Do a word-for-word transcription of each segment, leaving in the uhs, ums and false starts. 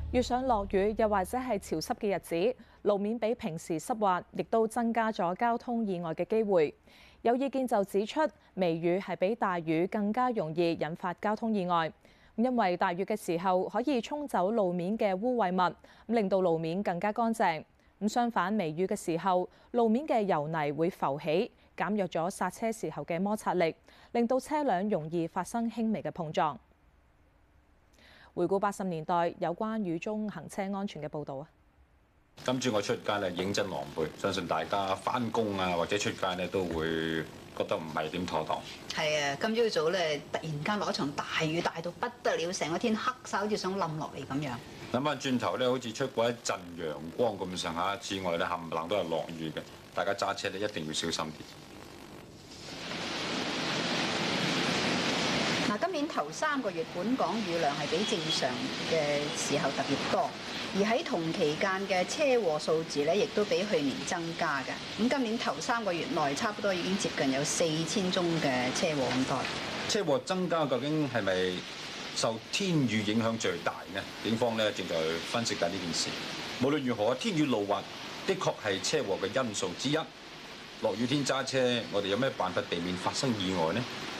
遇上落雨又或者係潮濕嘅日子，路面比平時濕滑，亦都增加咗交通意外嘅機會。有意見就指出，微雨係比大雨更加容易引發交通意外，因為大雨嘅時候可以沖走路面嘅污穢物，令到路面更加乾淨。咁相反，微雨嘅時候，路面嘅油泥會浮起，減弱咗剎車時候嘅摩擦力，令到車輛容易發生輕微嘅碰撞。回顧八十年代有關雨中行車安全嘅報導啊！ 今朝我出街咧，認真狼狽，相信大家返工啊或者出街咧都會覺得唔係點妥當。 係啊，今朝早咧突然間落一場大雨，大到不得了，成個天黑晒，好似想冧落嚟咁樣。 諗翻轉頭咧，好似出過一陣陽光咁上下，之外咧冚唪唥都係落雨嘅，大家揸車咧一定要小心啲。 嗱，今年頭三個月本港雨量係比正常嘅時候特別多，而喺同期間嘅車禍數字咧，亦都比去年增加嘅。咁今年頭三個月內，差不多已經接近有四千宗嘅車禍咁多。 車禍增加究竟係咪受天雨影響最大呢？警方咧正在分析緊呢件事。無論如何，天雨路滑的確係車禍嘅因素之一。落雨天揸車，我哋有咩辦法避免發生意外呢？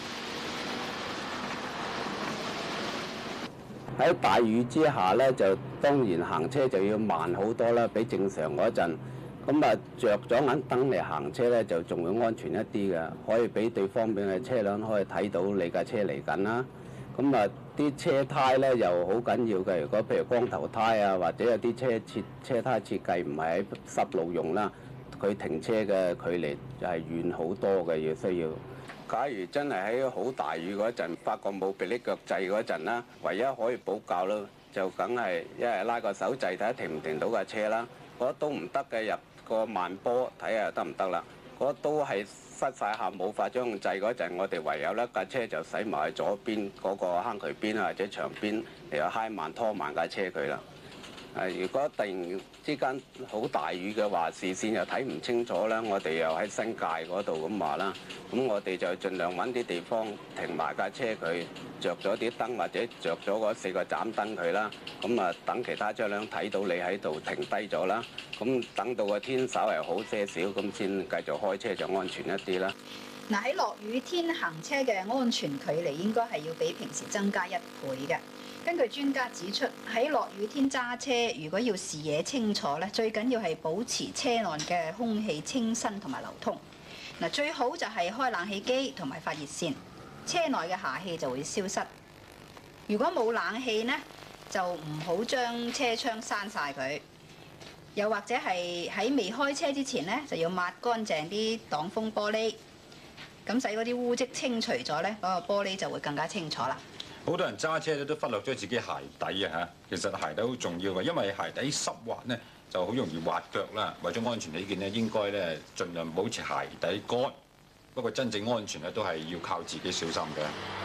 喺大雨之下咧，就當然行車就要慢好多啦，比正常嗰陣。咁啊，着咗眼燈嚟行車咧，就仲會安全一啲嘅，可以俾對方面嘅車輛可以睇到你架車嚟緊啦。咁啊，啲車胎咧又好緊要嘅。如果譬如光頭胎啊，或者有啲車設車胎設計唔係喺濕路用啦，佢停車嘅距離就係遠好多嘅，要需要。假如真係喺好大雨嗰陣，發覺冇迫力腳掣嗰陣啦，唯一可以補救咯，就梗係一係拉個手掣睇下停唔停到架車啦。嗰都唔得嘅，入個慢波睇下得唔得啦。嗰都係塞晒下冇法將掣嗰陣，我哋唯有咧架車就駛埋去左邊嗰個坑渠邊啊或者牆邊嚟到揩慢拖慢架車佢啦。誒，如果突然之間好大雨嘅話，視線又睇唔清楚啦，我哋又喺新界嗰度咁話啦，咁我哋就盡量揾啲地方停埋架車佢，着咗啲燈或者着咗嗰四個斬燈佢啦，咁啊等其他車輛睇到你喺度停低咗啦，咁等到個天稍為好些少，咁先繼續開車就安全一啲啦。 嗱，喺落雨天行車嘅安全距離應該係要比平時增加一倍嘅。根據專家指出，喺落雨天揸車，如果要視野清楚咧，最緊要係保持車內嘅空氣清新同埋流通。嗱，最好就係開冷氣機同埋發熱線，車內嘅霞氣就會消失。如果冇冷氣呢，就唔好將車窗閂晒佢。又或者係喺未開車之前呢，就要抹乾淨啲擋風玻璃，咁使嗰啲污跡清除咗咧，嗰個玻璃就會更加清楚啦。 好多人揸車咧都忽略咗自己鞋底啊嚇，其實鞋底好重要嘅，因為鞋底濕滑咧就好容易滑腳啦。為咗安全起見咧，應該咧盡量保持鞋底乾。不過真正安全咧都係要靠自己小心嘅。